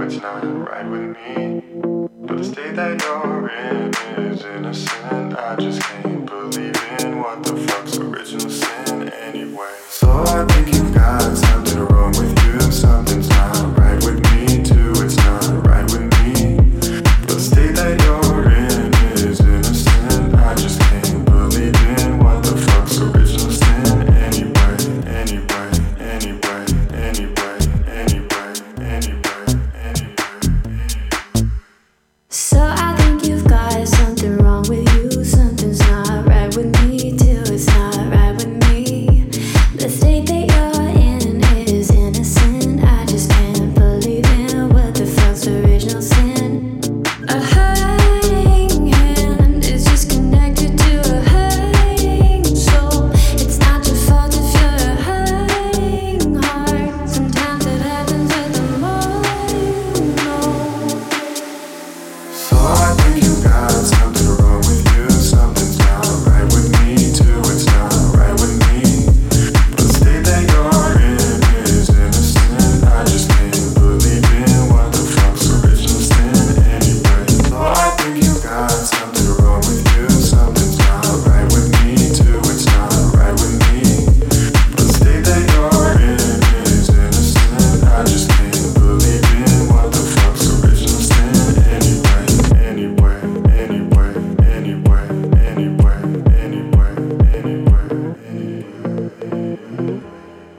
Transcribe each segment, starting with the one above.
it's not right with me. But the state that you're in is innocent. I just can't believe in what the fuck's original sin anyway. So I think you've got something wrong with you. Something's not right with me too. It's not right with me. But the state that you're in is innocent. I just can't believe in what the fuck's original sin anyway. Anyway, anyway, anyway, anyway, anyway, anyway. So I think you've got something wrong with you. Something's not right with me too. It's not right with me. The state that you're in is innocent. I just can't believe in what the fuck's original sin. A hurting hand is just connected to a hurting soul. It's not your fault if you're a hurting heart. Sometimes it happens with the more you know. So I think you got something wrong with you. Something's not right with me too. It's not right with me. But the state that you're in is innocent. I just can't believe in what the fuck's original sin anyway. So I think you got something wrong with you. Something's not right with me too. It's not right with me. But the state that you're in is innocent. I just can't believe in what the fuck's original sin anyway. Anyway, anyway, anyway, anyway, anyway, anyway, anyway.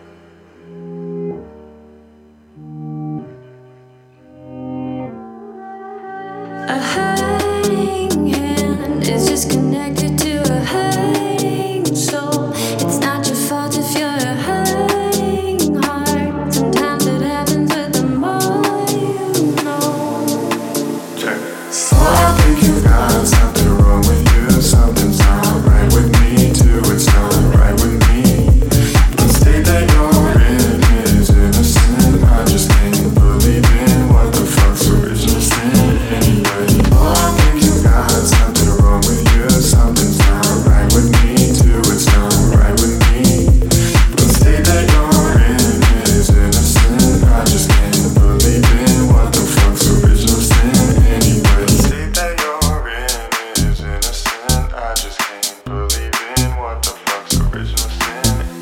A hurting hand is just connected to a hurting soul. It's not your fault if you're a hurting heart. Sometimes it happens with the more you know. Check. So I think you got something wrong with you. Something's not right with me too. It's not right with me. The state that you're in is innocent. I just can't believe in what the fuck's original sin anyway. So I think you got something wrong with you. Something's not right with me too. It's not right with me. The state that you're in is innocent. I just can't believe in what the fuck's original sin anyway. The state that you're in is innocent. I just can't believe in what the fuck's original sin.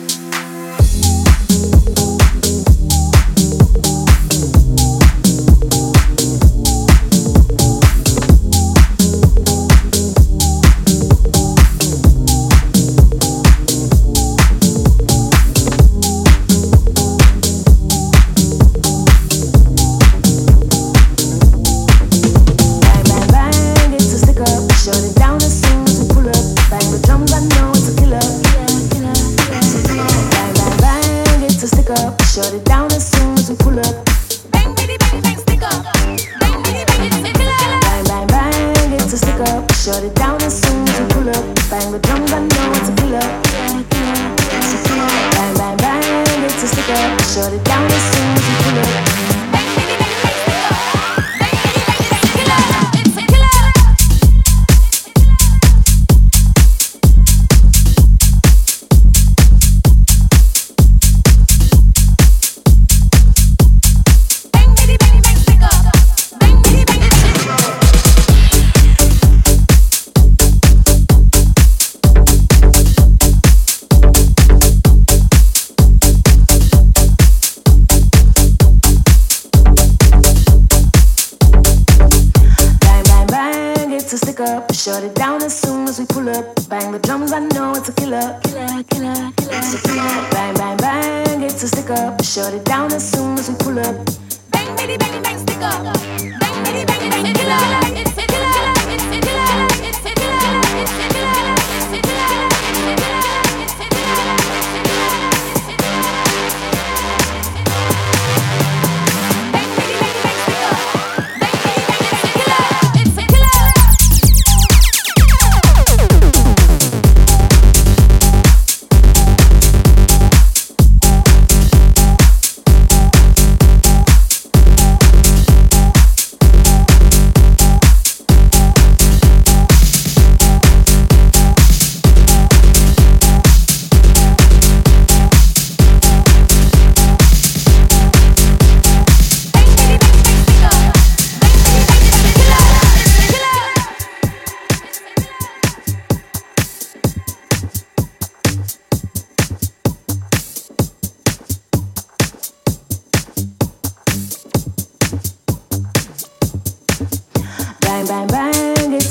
Bang, bang, bang, it's a stick up. Shut it down as soon as we pull up. Bang the drums, I know it's a killer. Bang, bang, bang, it's a stick up. Shut it down as soon as we pull up. Bang, bitty, bang, bang, stick up. Bang, bitty, bang, it's a killer. Bang, bang, bang, it's a stick up. Shut it down as soon as we pull up. Bang the drums, I know it's a killer. Bang, bang, bang, it's a stick up. Shut it down as soon as we pull up. Bang, bitty, bang, bang, stick up. Bang, bitty, bang, it's a killer. It's a killer. Bang, bitty, bang, bang, stick up. Bang, bitty, bang, it's a killer. Bang, bang, bang, it's a stick up. Shut it down as soon as we pull up. Bang the drums, I know it's a killer. Bang, bang, bang, it's a stick up. Shut it down as soon as we pull up. Bang, bitty, bang, bang, stick up. Bang, bitty, bang, it's a killer. It's a killer. It's a killer. It's a killer. It's a killer. It's a killer. It's a killer. It's a killer. Bang, bitty, bang, bang, stick up. Bang, bitty, bang, it's a killer. It's a killer.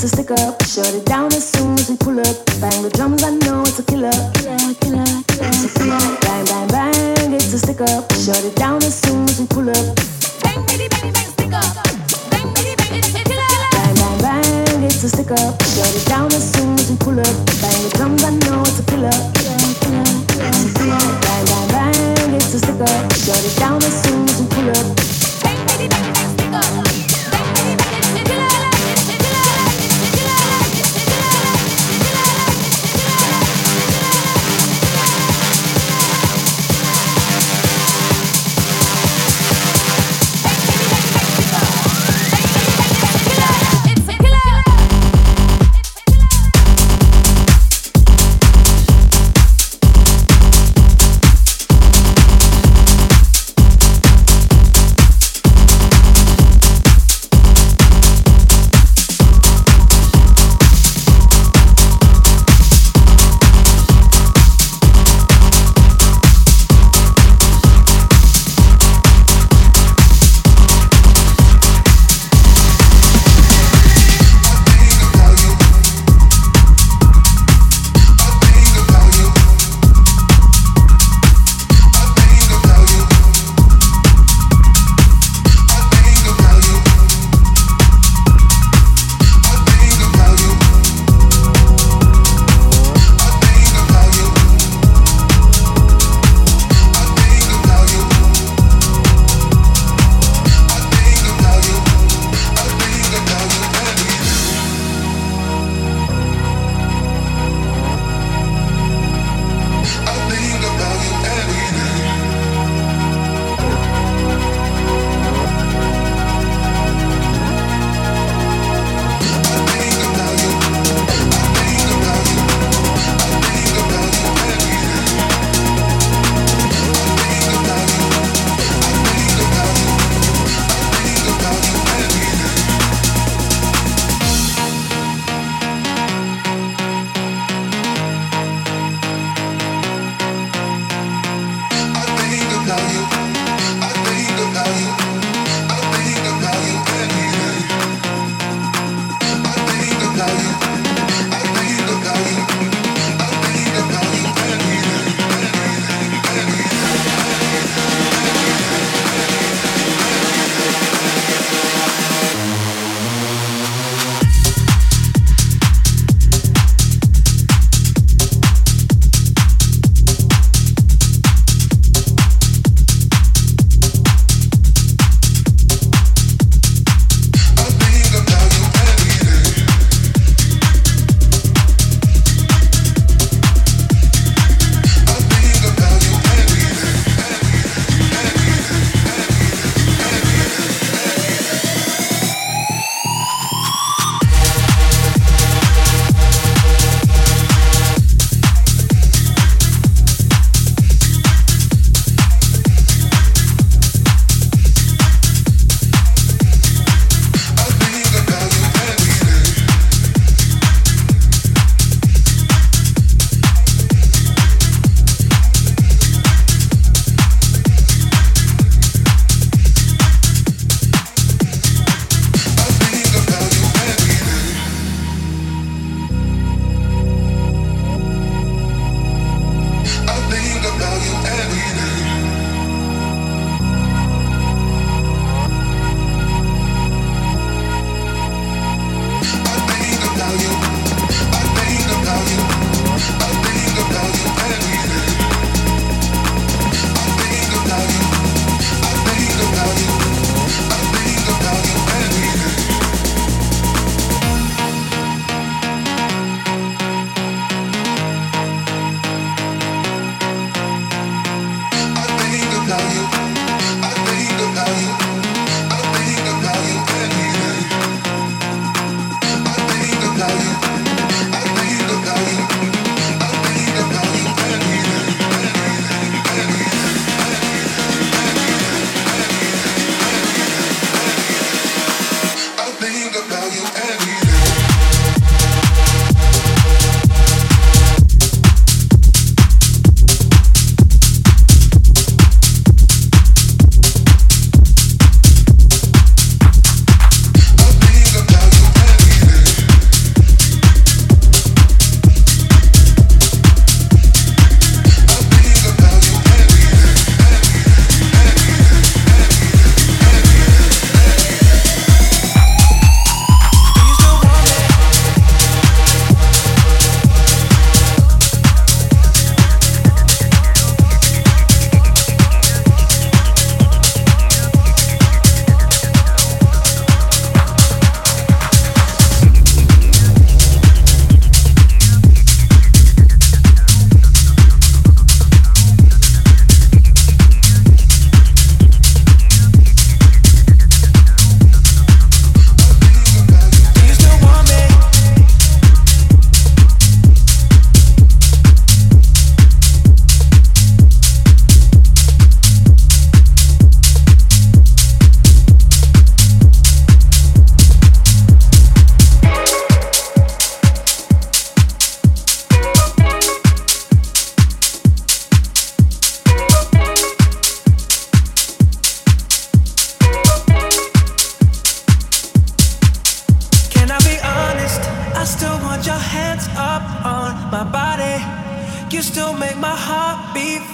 a stick up. Shut it down as soon as we pull up. Bang the drums, I know it's a killer. It's a killer. Bang, bang, bang, it's a stick up. Shut it down as soon as we pull up. Bang, bitty, bang, bang, stick up. Bang, bitty, bang, it's a killer. Bang, bang, bang, it's a stick up. Shut it down as soon as we pull up. Bang the drums, I know it's a killer. It's a killer. Bang, bang, bang, it's a stick up. Shut it down as soon as we pull up. Bang, bitty, bang, bang, stick up. Bang, bitty, bang, it's a killer. It's a killer. It's a killer. It's a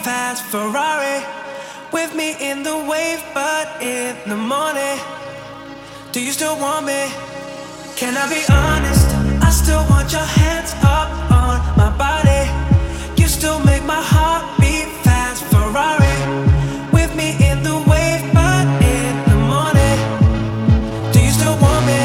fast Ferrari with me in the wave, but in the morning, do you still want me? Can I be honest? I still want your hands up on my body. You still make my heart beat fast Ferrari with me in the wave, but in the morning, do you still want me?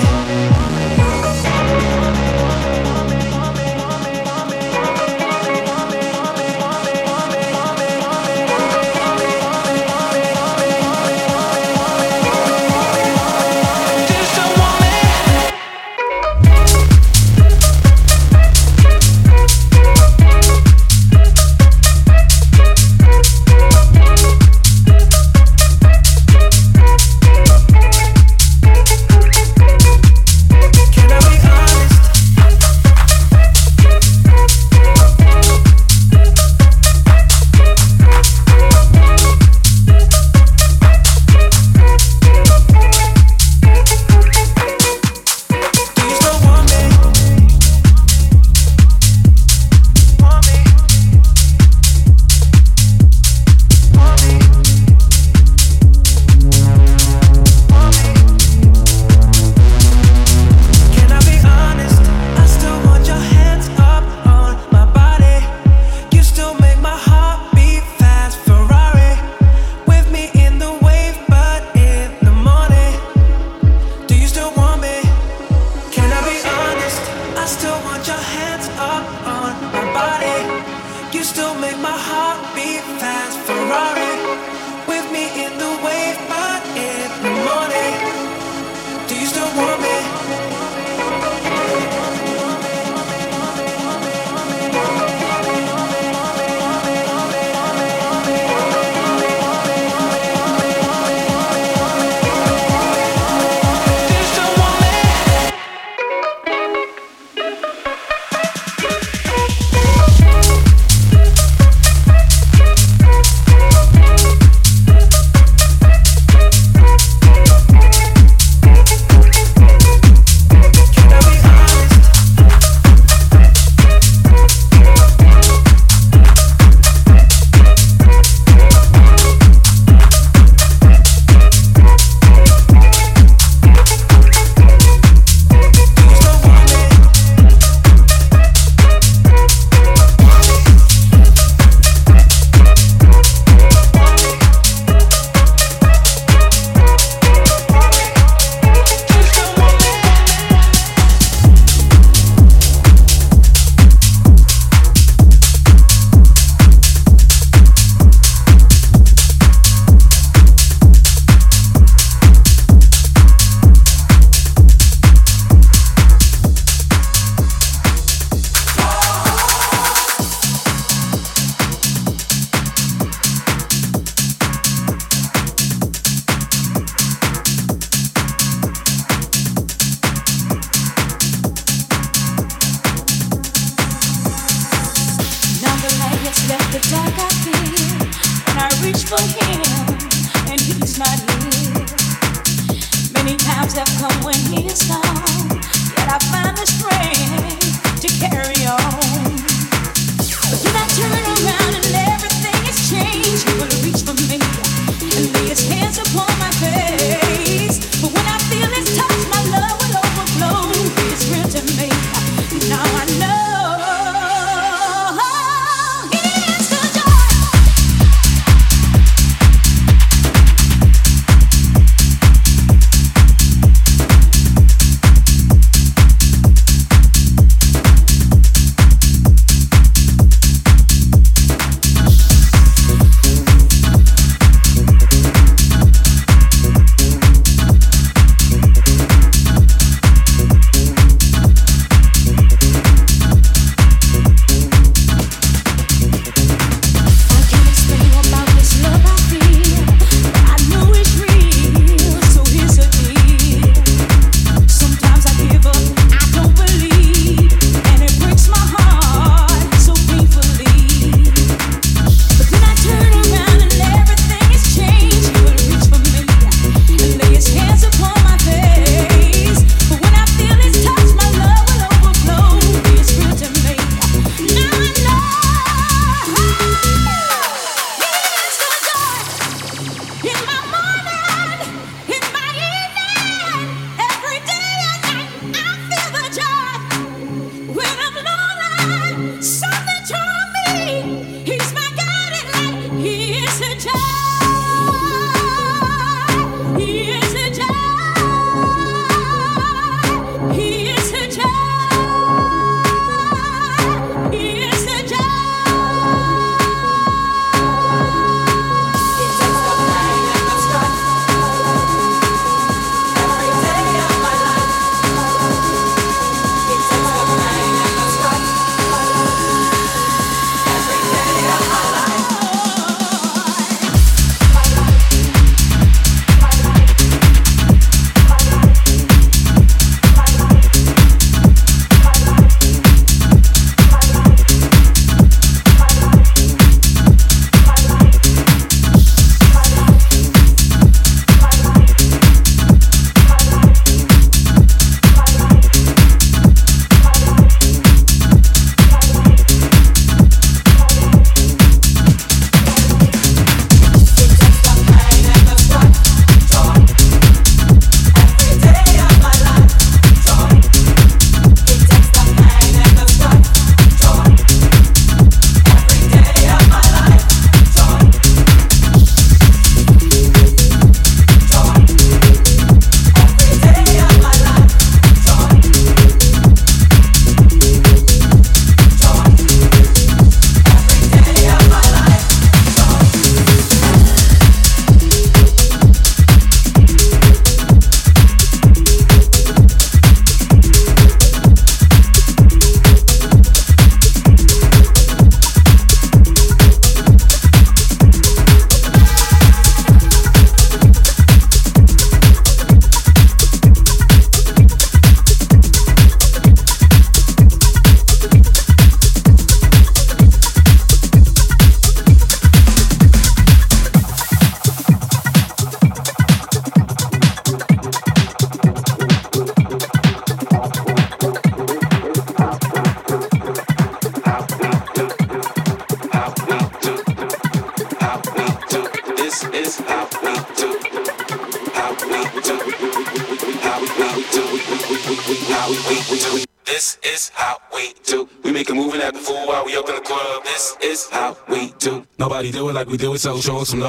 how we do. This is how we do. We make a move and act a fool while we up in the club. This is how we do. Nobody do it like we do it, so show us some love.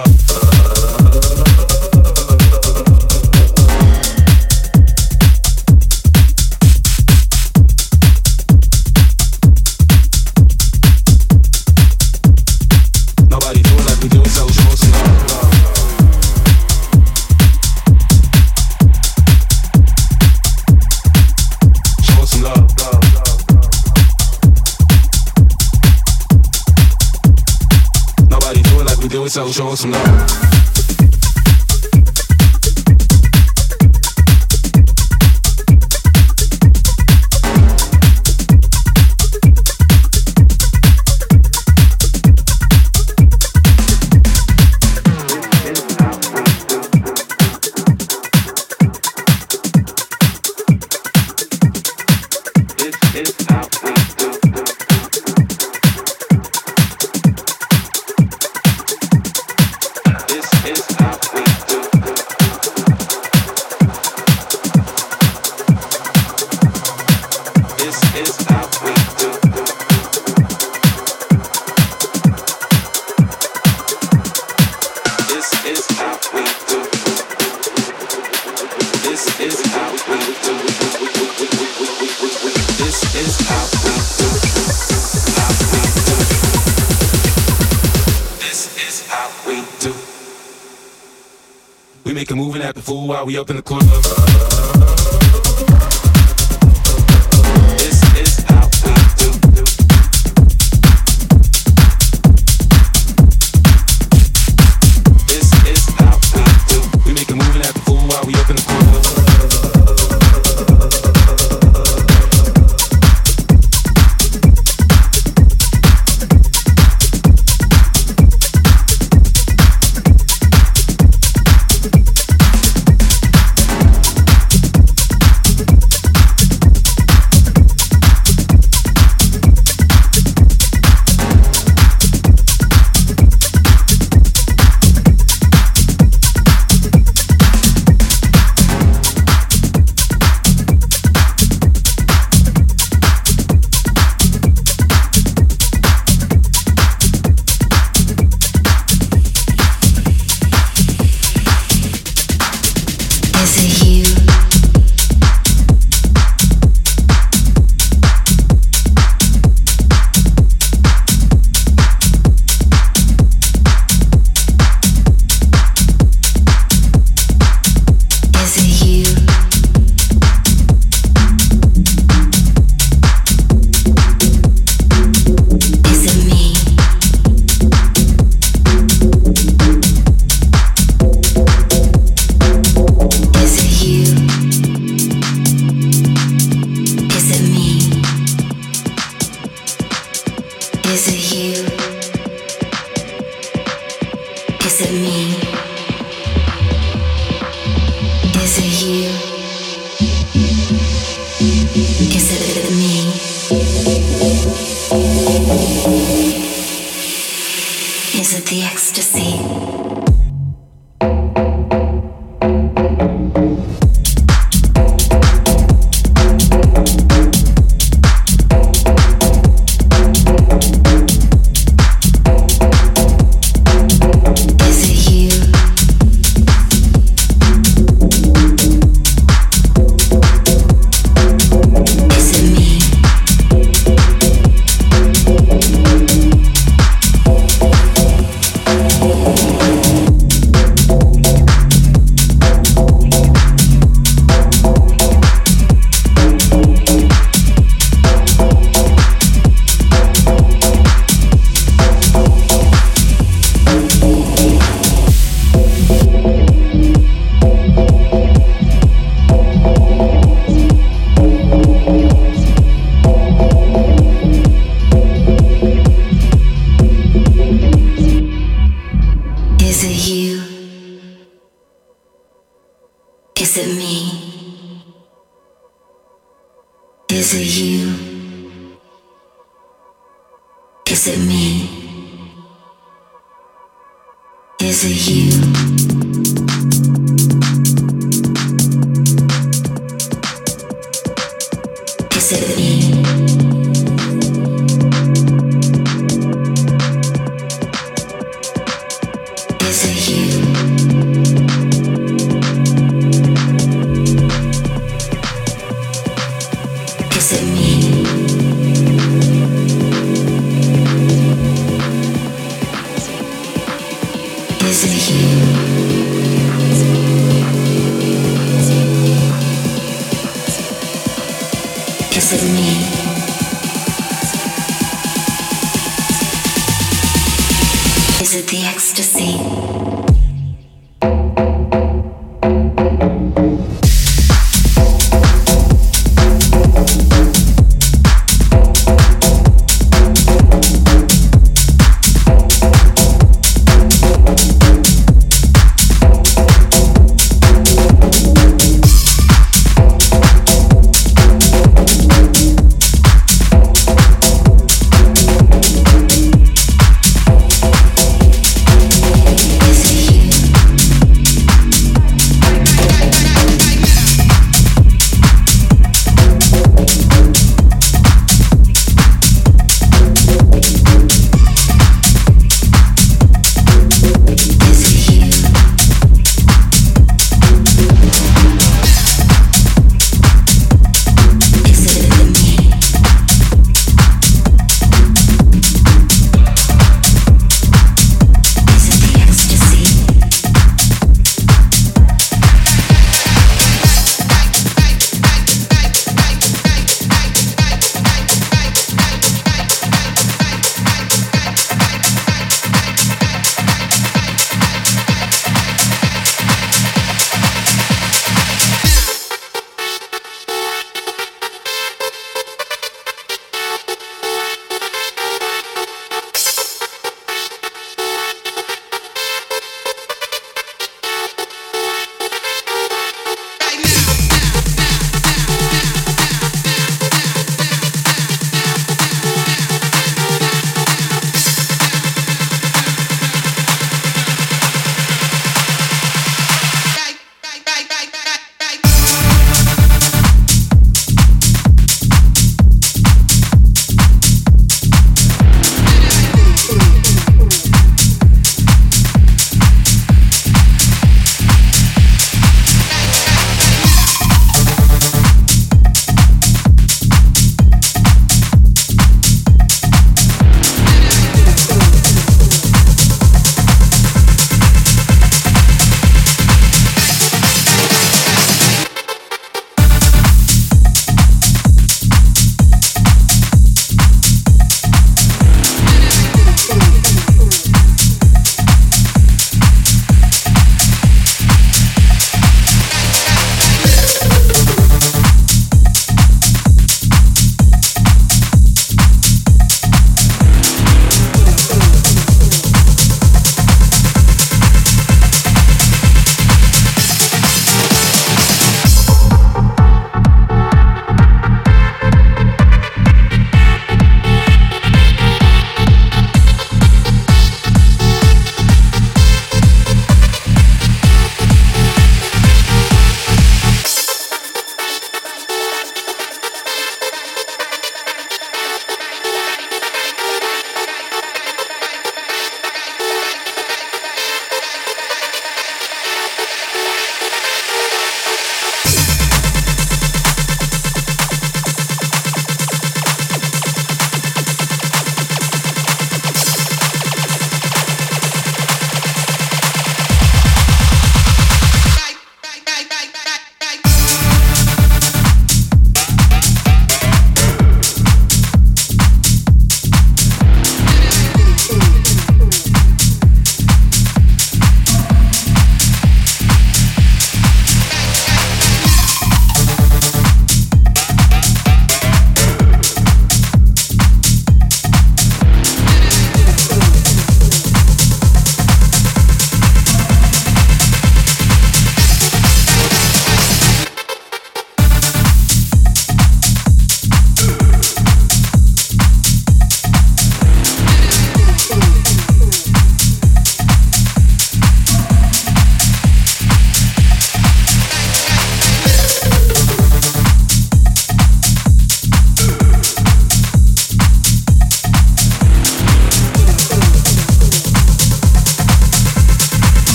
So show us some love. While we up in the club. Is it you? Is it me? Is it you?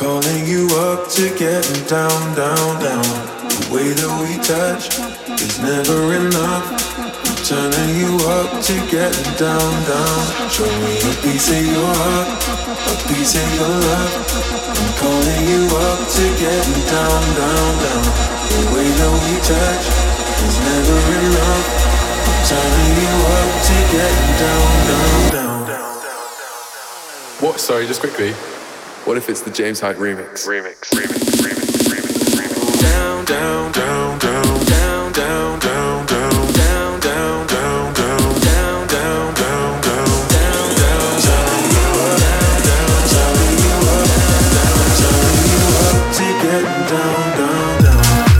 calling you up to getting down, down, down. The way that we touch is never enough. I'm turning you up to getting down, down. Show me a piece of your heart, a piece of your love. I'm calling you up to getting down, down, down. The way that we touch is never enough. I'm turning you up to getting down, down, down. What? Sorry, just quickly. What if it's the James Hype remix? Down, down, down, down, down, down, down, down, down, down, down, down, down, down, down, down, down, down, turning you up, down, turning you up, down, turning you up to getting down, down, down.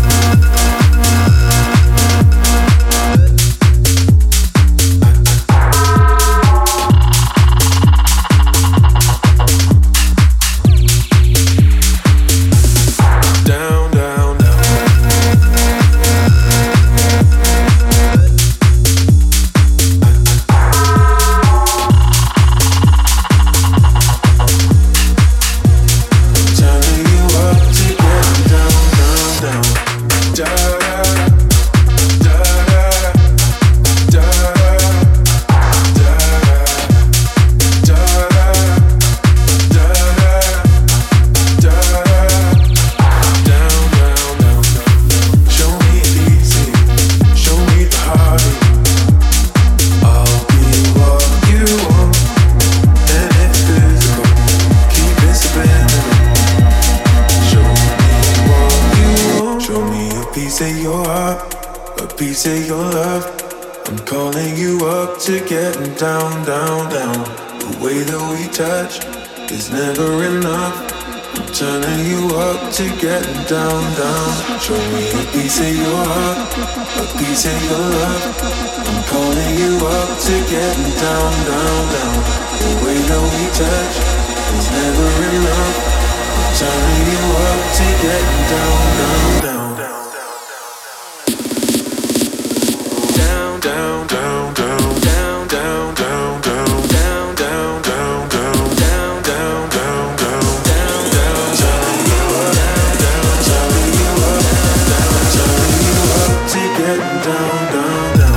Say your love, I'm calling you up to getting down, down, down. The way that we touch is never enough. I'm turning you up to getting down, down. Show me a piece of your heart, a piece of your love. I'm calling you up to getting down, down, down. The way that we touch is never enough. I'm turning you up to getting down, down, down. Down, down, down, down, down, down, down, down, down, down, down, down, down, down, down, down, down, turning you up, down, turning you up, down, turning you up to getting down, down, down.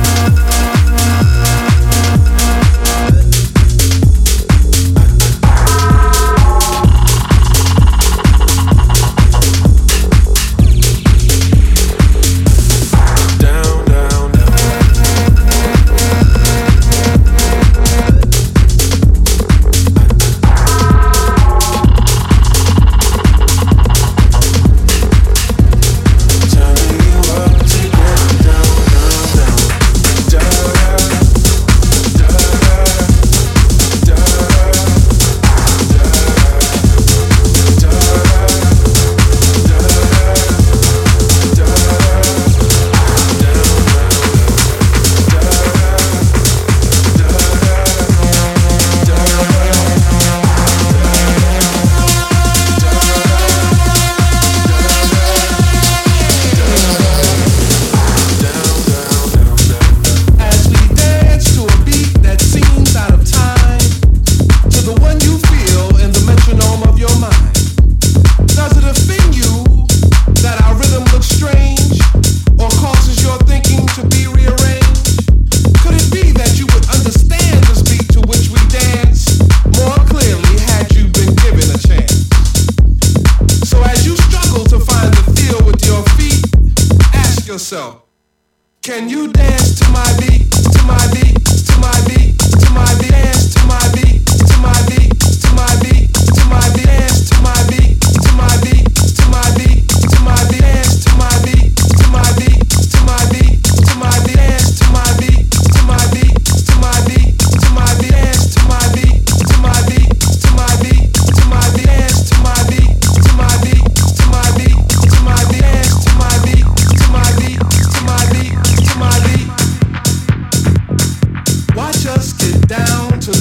Can you dance to my beat, to my beat, to my beat, to my beat, dance to my beat, to my beat, to my beat, to my beat, dance to my beat, to my beat, to my beat, to my beat, dance to my beat, to my beat, to my beat, to my beat, dance to my beat, to my beat, to my beat, to my beat, dance to my beat, to my beat, to my beat, to my beat, dance to my beat, to my beat, to my beat, to my beat, dance to my beat, to my beat, to my beat. Watch us get down to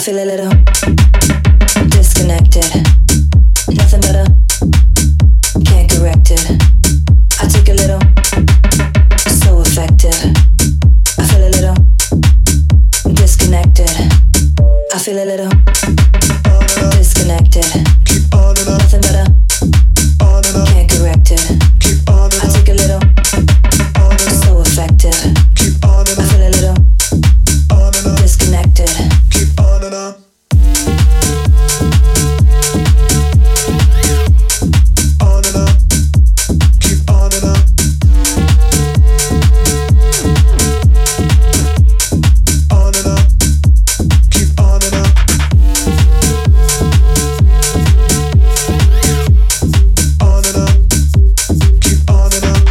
feel a little disconnected. Nothing better, can't correct it. I take a little, so effective. I feel a little disconnected. I feel a little disconnected. Nothing better, can't correct it. I take a little, so effective. I feel a little disconnected. Keep on and on. On and on. Keep on and on. On and on. Keep on and on. On and on. Keep on and on.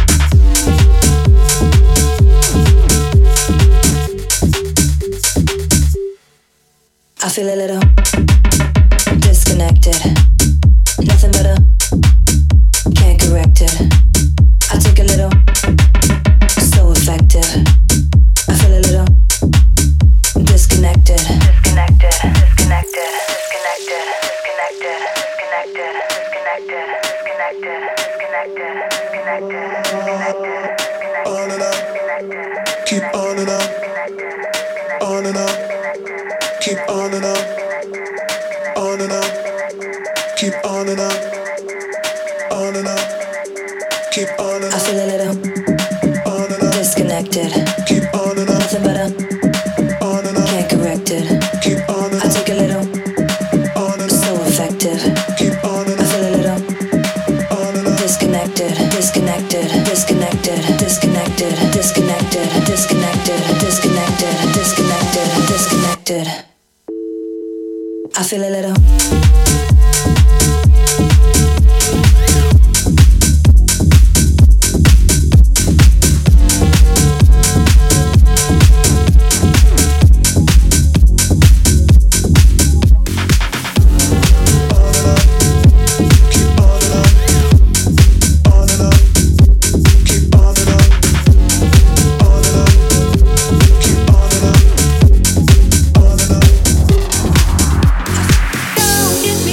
I feel a little disconnected. Nothing better, can't correct it. I take a little, so effective. I feel a little disconnected. Disconnected, disconnected, disconnected, disconnected, disconnected, disconnected, disconnected, disconnected, disconnected, disconnected, On and on. Keep on and on. On and on. Keep on and on. On and on. Keep on and on. On and on. Keep on and I on. feel a little On and on. disconnected. Keep on and on. Nothing better, On and on. can't correct it. Keep on and I on. take a little, On and on. so effective. Keep on and I on. feel a little On and on. disconnected, disconnected, disconnected, disconnected, disconnected, disconnected, disconnected, disconnected, disconnected. I feel a little. Keep on and on. On and on. Keep on and on. On and on. Keep on and on. On and on. Don't you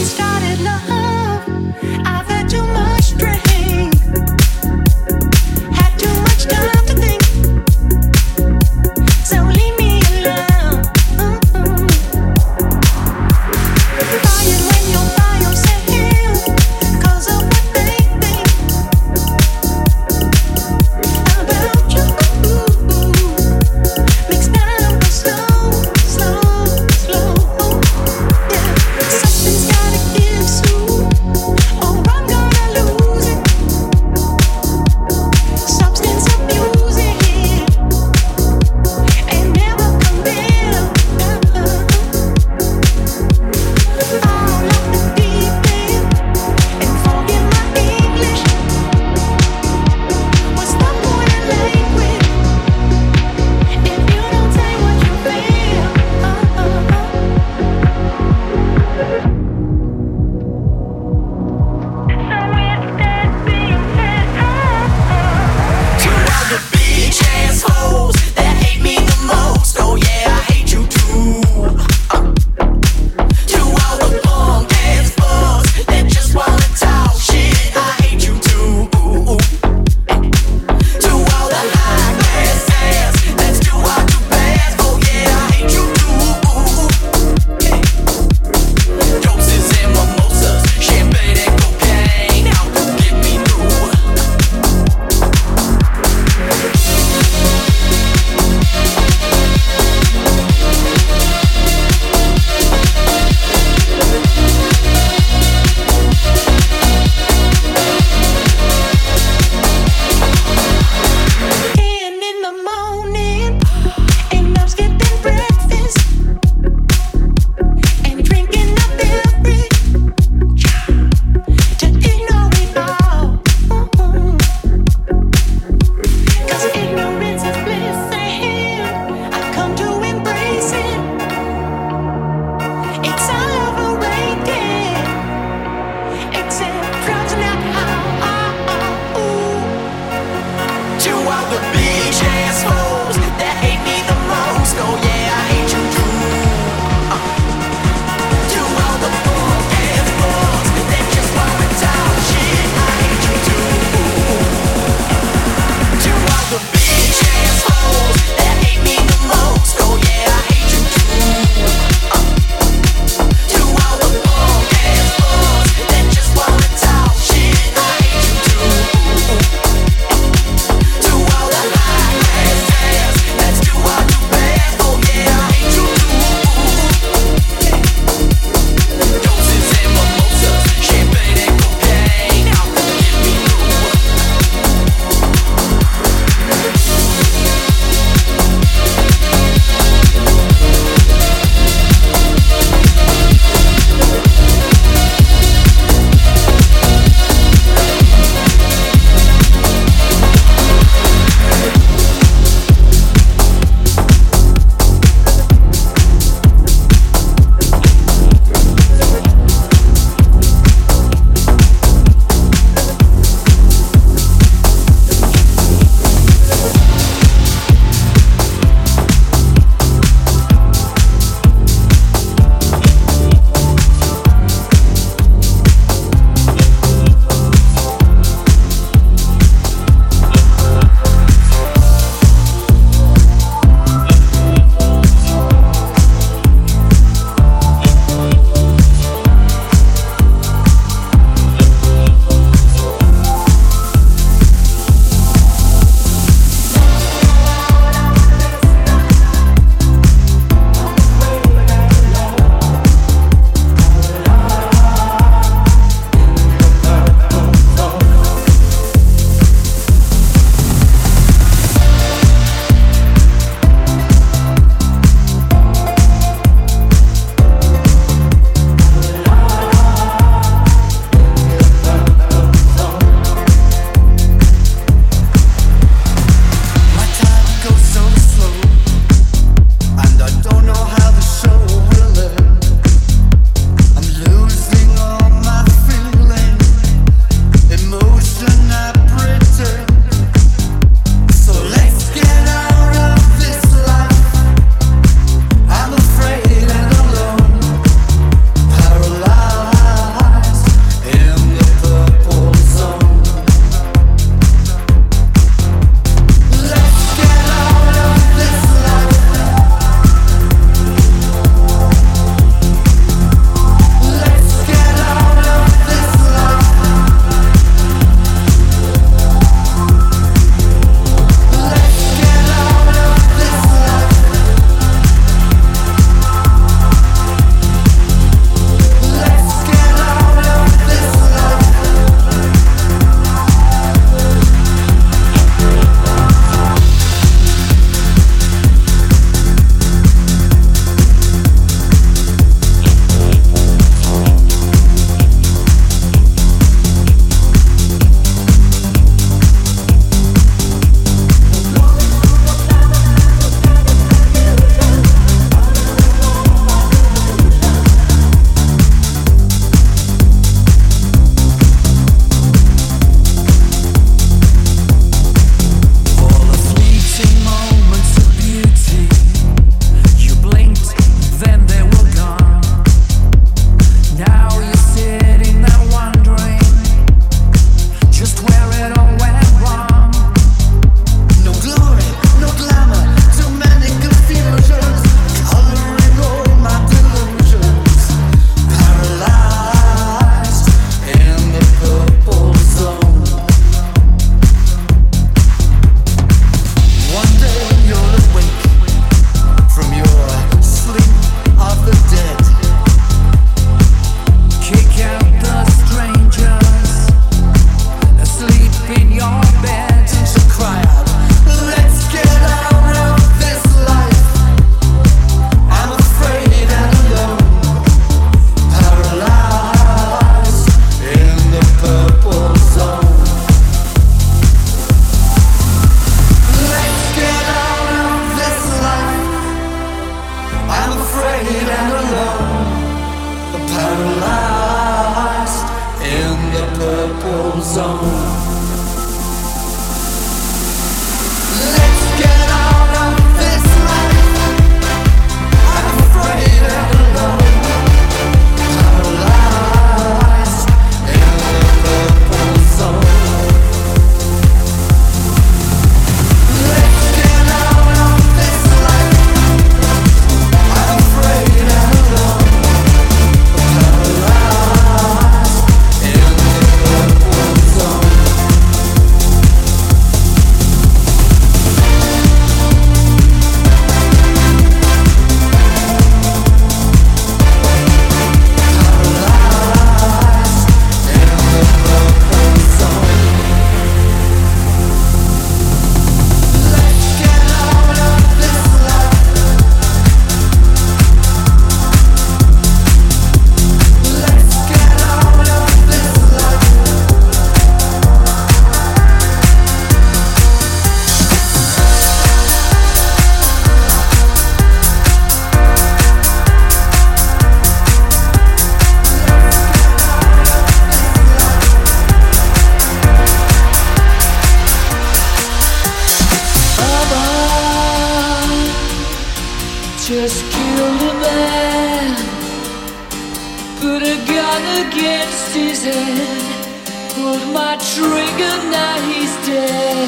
just killed a man, put a gun against his head, pulled my trigger, now he's dead.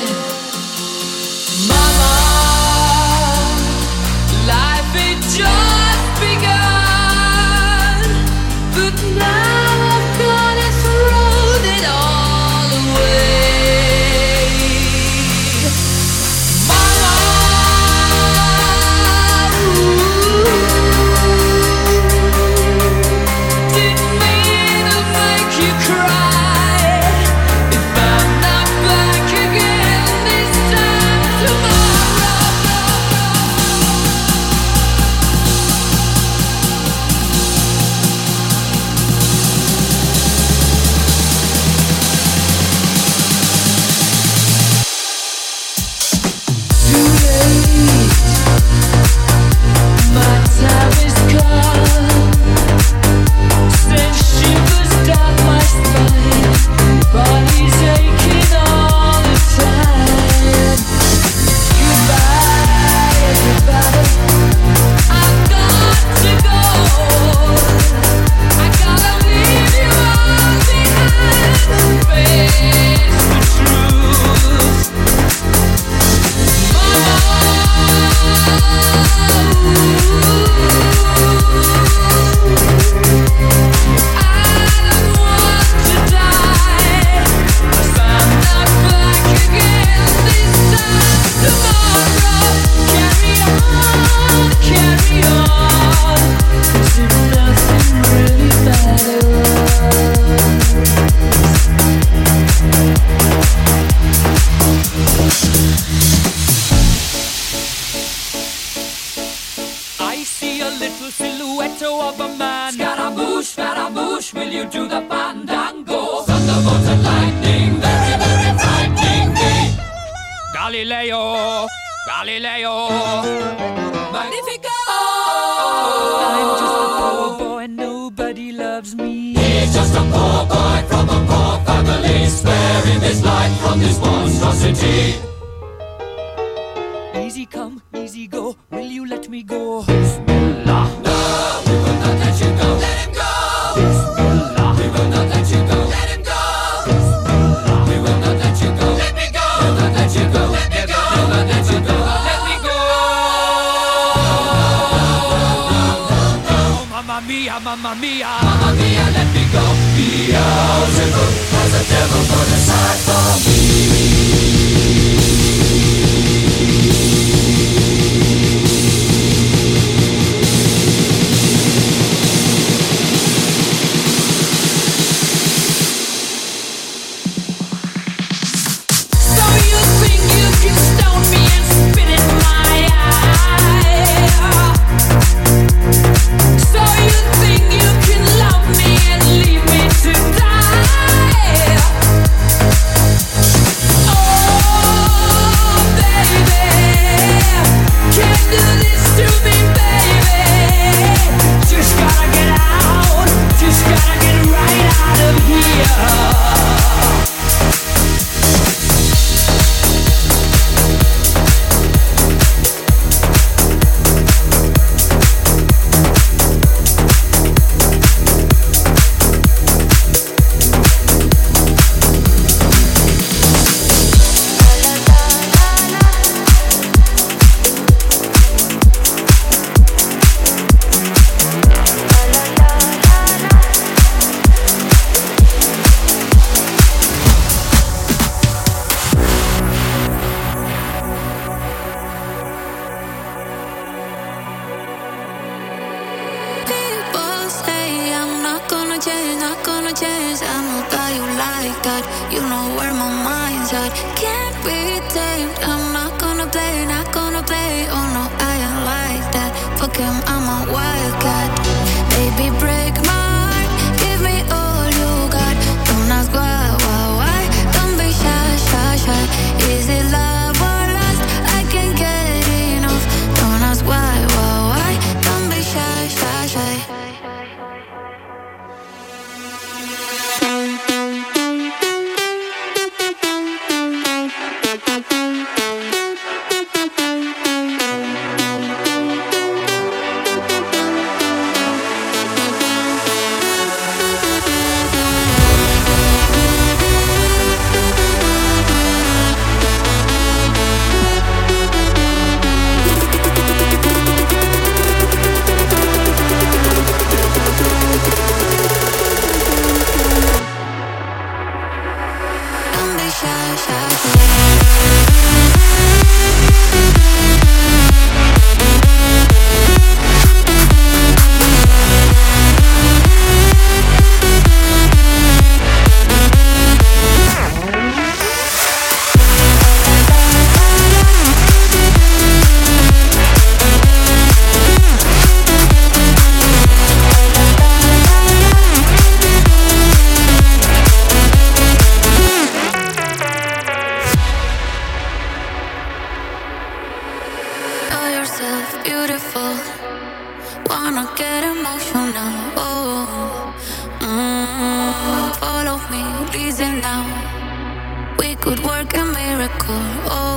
Mama, life had just begun, but now I've gonna throw it all away. Mama, didn't mean to make you cry. If I'm not back again this time tomorrow. Too late, my time is gone. Send shivers down my spine, body's aching all the time. Goodbye, everybody, I've got to go. I gotta leave you all behind, face the truth. I see a little silhouette of a man. Scaramouche, will you do the fandango? Thunderbolt and lightning, very, very frightening me. Galileo, Magnifico! I'm just a poor boy, nobody loves me. He's just a poor boy from a poor family. Spare him his life from this monstrosity. Easy come, easy go, will you let me go? Bismillah. No, we will not let you go. Let him go. Bismillah. We will not let you go. Let him go. Bismillah. We will not let you go. Let me go. We'll not let you go. Let me go. We'll not let you go. Let me go. Oh, mamma mia, mamma mia. Mamma mia, let me go. Beelzebub has a devil put aside for me. Is it love or lust? I can't get enough. Don't ask why. Don't be shy. yourself beautiful. Wanna get emotional. Oh, follow me, reason now. We could work a miracle. Oh.